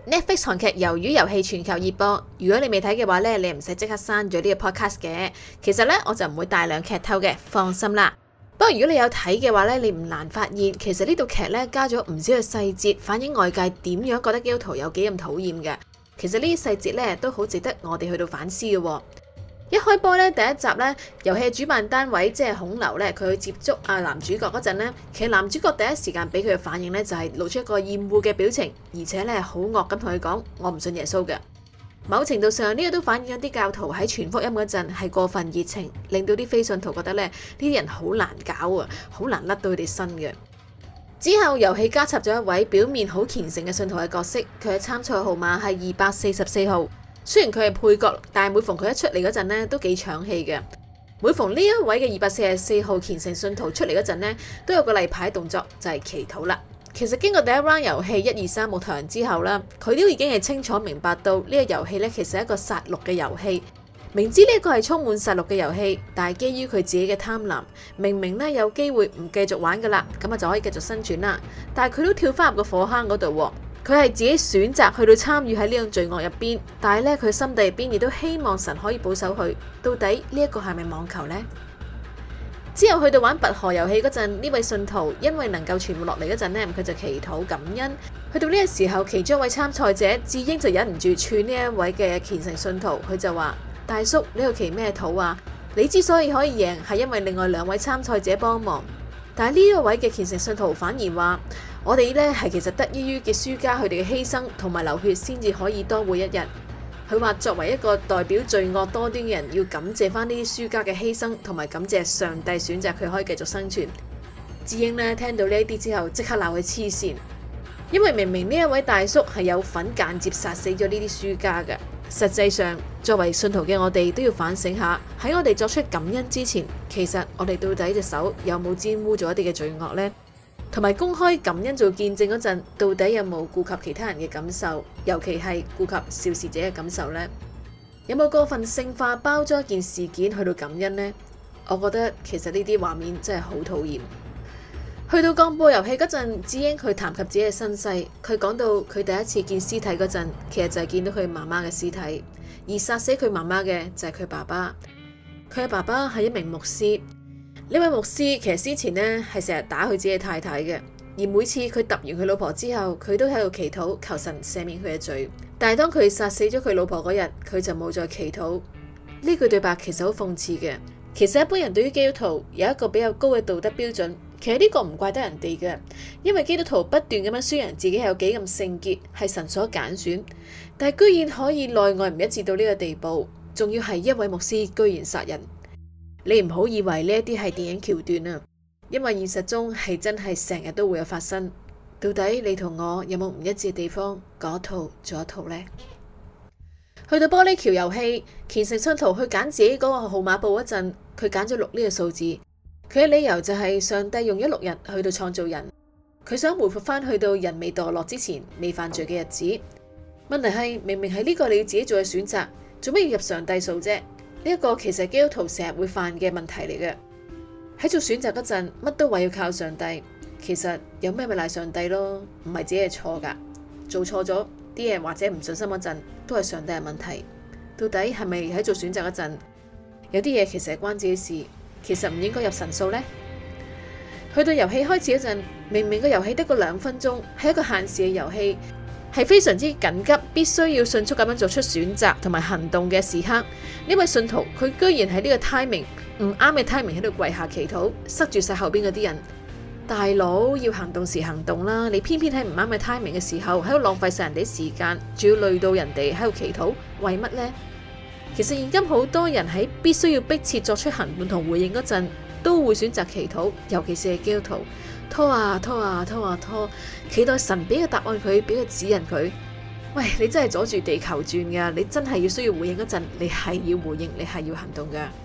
Netflix 韓劇《魷魚遊戲》全球熱播，如果你未睇嘅話咧，你唔使即刻刪咗呢個 podcast 嘅。其實咧，我就唔會大量劇透嘅，放心啦。不過如果你有睇嘅話咧，你唔難發現，其實呢套劇咧加咗唔少嘅細節，反映外界點樣覺得基督徒有幾咁討厭嘅。其實呢啲細節咧都好值得我哋去到反思嘅喎。一開波咧，第一集咧，遊戲主辦單位即係孔劉咧，佢去接觸男主角嗰陣咧，其實男主角第一時間俾佢嘅反應咧就係露出一個厭惡嘅表情，而且咧好惡咁同佢講：我唔信耶穌嘅。某程度上呢個都反映咗啲教徒喺傳福音嗰陣係過分熱情，令到啲非信徒覺得咧呢啲人好難搞啊，好難甩到佢哋身嘅。之後遊戲加插咗一位表面好虔誠嘅信徒嘅角色，佢嘅參賽號碼係244號。雖然佢係配角，但係每逢佢一出嚟嗰陣咧，都幾搶戲嘅。每逢呢一位嘅244號虔誠信徒出嚟嗰陣咧，都有個例牌動作，就係祈禱啦。其實經過第一 round 遊戲1、2、3木頭人之後啦，佢都已經係清楚明白到呢個遊戲咧，其實係一個殺戮嘅遊戲。明知呢個係充滿殺戮嘅遊戲，但係基於佢自己嘅貪婪，明明咧有機會唔繼續玩噶啦，咁啊就可以繼續生存啦。但係佢都跳翻入個火坑嗰度喎。佢係自己選擇去到參與喺呢種罪惡入邊，但係咧佢心底入邊亦都希望神可以保守佢。到底呢一個係咪妄求呢？之後去到玩拔河遊戲嗰陣，呢位信徒因為能夠存活落嚟嗰陣咧，佢就祈禱感恩。去到呢個時候，其中一位參賽者智英就忍唔住串呢一位嘅虔誠信徒，佢就話：大叔，呢個祈咩禱啊？你之所以可以贏，係因為另外2位參賽者幫忙。但係呢一位嘅虔誠信徒反而話：我哋咧係其實得益於嘅輸家佢哋嘅犧牲同埋流血，先至可以多活一日。佢話作為一個代表罪惡多端嘅人，要感謝翻呢啲輸家嘅犧牲，同埋感謝上帝選擇佢可以繼續生存。智英咧聽到呢一啲之後，即刻鬧佢黐線，因為明明呢一位大叔係有份間接殺死咗呢啲輸家嘅。實際上，作為信徒嘅我哋都要反省下，喺我哋作出感恩之前，其實我哋到底隻手有冇沾污咗一啲嘅罪惡呢？同埋公開感恩做見證嗰陣，到底有冇顧及其他人嘅感受，尤其係顧及肇事者嘅感受呢？有冇過分聖化包裝一件事件去到感恩呢？我覺得其實呢啲畫面真係好討厭。去到鋼布遊戲嗰陣，智英佢談及自己嘅身世，佢講到佢第一次見屍體嗰陣，其實就係見到佢媽媽嘅屍體，而殺死佢媽媽嘅就係佢爸爸。佢嘅爸爸係一名牧師，呢位牧師其實之前呢係成日打佢自己嘅太太嘅，而每次佢揼完佢老婆之後，佢都喺度祈禱求神赦免佢嘅罪。但係當佢殺死咗佢老婆嗰日，佢就冇再祈禱。呢句對白其實好諷刺嘅。其實一般人對於基督徒有一個比較高嘅道德標準。其實呢個唔怪得人哋嘅，因為基督徒不斷咁樣宣揚自己係有幾咁聖潔，係神所揀選，但係居然可以內外唔一致到呢個地步，仲要係一位牧師居然殺人。你唔好以為呢一啲係電影橋段啊，因為現實中係真係成日都會有發生。到底你同我有冇唔一致嘅地方？講一套做一套呢？去到玻璃橋遊戲，虔誠信徒去揀自己嗰個號碼簿嗰陣，佢揀咗6呢個數字。佢嘅理由就係上帝用咗6日去到創造人，佢想回復翻去到人未墮落之前未犯罪嘅日子。問題係明明係呢個你自己做嘅選擇，做咩要入上帝數啫？呢一個其實係基督徒成日會犯嘅問題嚟嘅。喺做選擇嗰陣，乜都話要靠上帝，其實有咩咪賴上帝咯，唔係自己係錯噶。做錯咗啲嘢或者唔信心嗰陣，都係上帝嘅問題。到底係咪喺做選擇嗰陣，有啲嘢其實係關自己事？其實唔應該入神數呢。去到遊戲開始嗰陣，明明個遊戲得個2分鐘，係一個限時嘅遊戲，係非常之緊急，必須要迅速咁樣做出選擇同埋行動嘅時刻。呢位信徒佢居然喺呢個 timing 唔啱嘅 timing 喺度跪下祈禱，塞住晒後邊嗰啲人。大佬，要行動時行動啦，你偏偏喺唔啱嘅 timing 嘅時候喺度浪費晒人哋時間，仲要累到人哋喺度祈禱，為乜呢？其實現今好多人喺必須要迫切作出行動同回應嗰陣，都會選擇祈禱，尤其是係基督徒，拖啊拖啊拖啊拖，期待神俾個答案佢，俾個指引佢。喂，你真係阻住地球轉噶，你真係要需要回應嗰陣，你係要回應，你係要行動噶。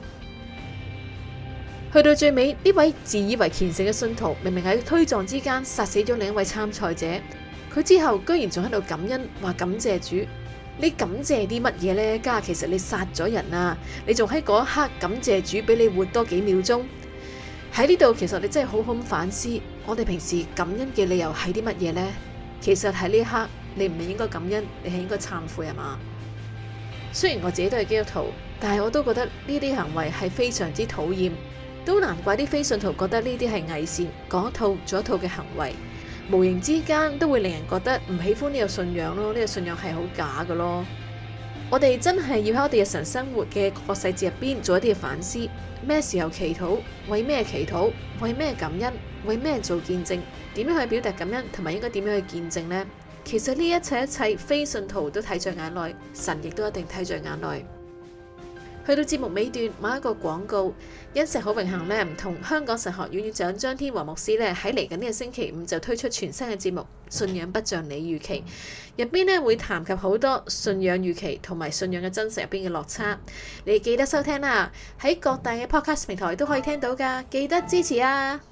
去到最尾，呢位自以為虔誠嘅信徒，明明喺推撞之間殺死咗另一位參賽者，佢之後居然仲喺度感恩，話感謝主。你感謝啲乜嘢呢？家其實你殺咗人啊，你仲喺嗰一刻感謝主俾你活多幾秒鐘。喺呢度其實你真係好好咁反思，我哋平時感恩嘅理由係啲乜嘢呢？其實喺呢一刻， 你唔係應該感恩，你係應該懺悔係嘛？雖然我自己都係基督徒，但係我都覺得呢啲行為係非常之討厭，都難怪啲非信徒覺得呢啲係偽善，講一套做一套嘅行為，無形之間都會令人覺得唔喜歡呢個信仰咯，呢個信仰係好假㗎咯。我哋真係要喺我哋日常生活嘅各個細節入邊做一啲嘅反思，咩時候祈禱，為咩祈禱，為咩感恩，為咩做見證，點樣去表達感恩，同埋應該點樣去見證呢？其實呢一切非信徒都睇在眼內，神亦都一定睇在眼內。去到節目尾段，買一個廣告。欣石好榮幸呢，唔同香港神學院院長張天和牧師呢，喺嚟緊呢個星期五就推出全新嘅節目《信仰不像你預期》，入邊呢會談及好多信仰預期同埋信仰嘅真實入邊嘅落差。你記得收聽啦，喺各大嘅 podcast 平台都可以聽到㗎，記得支持啊！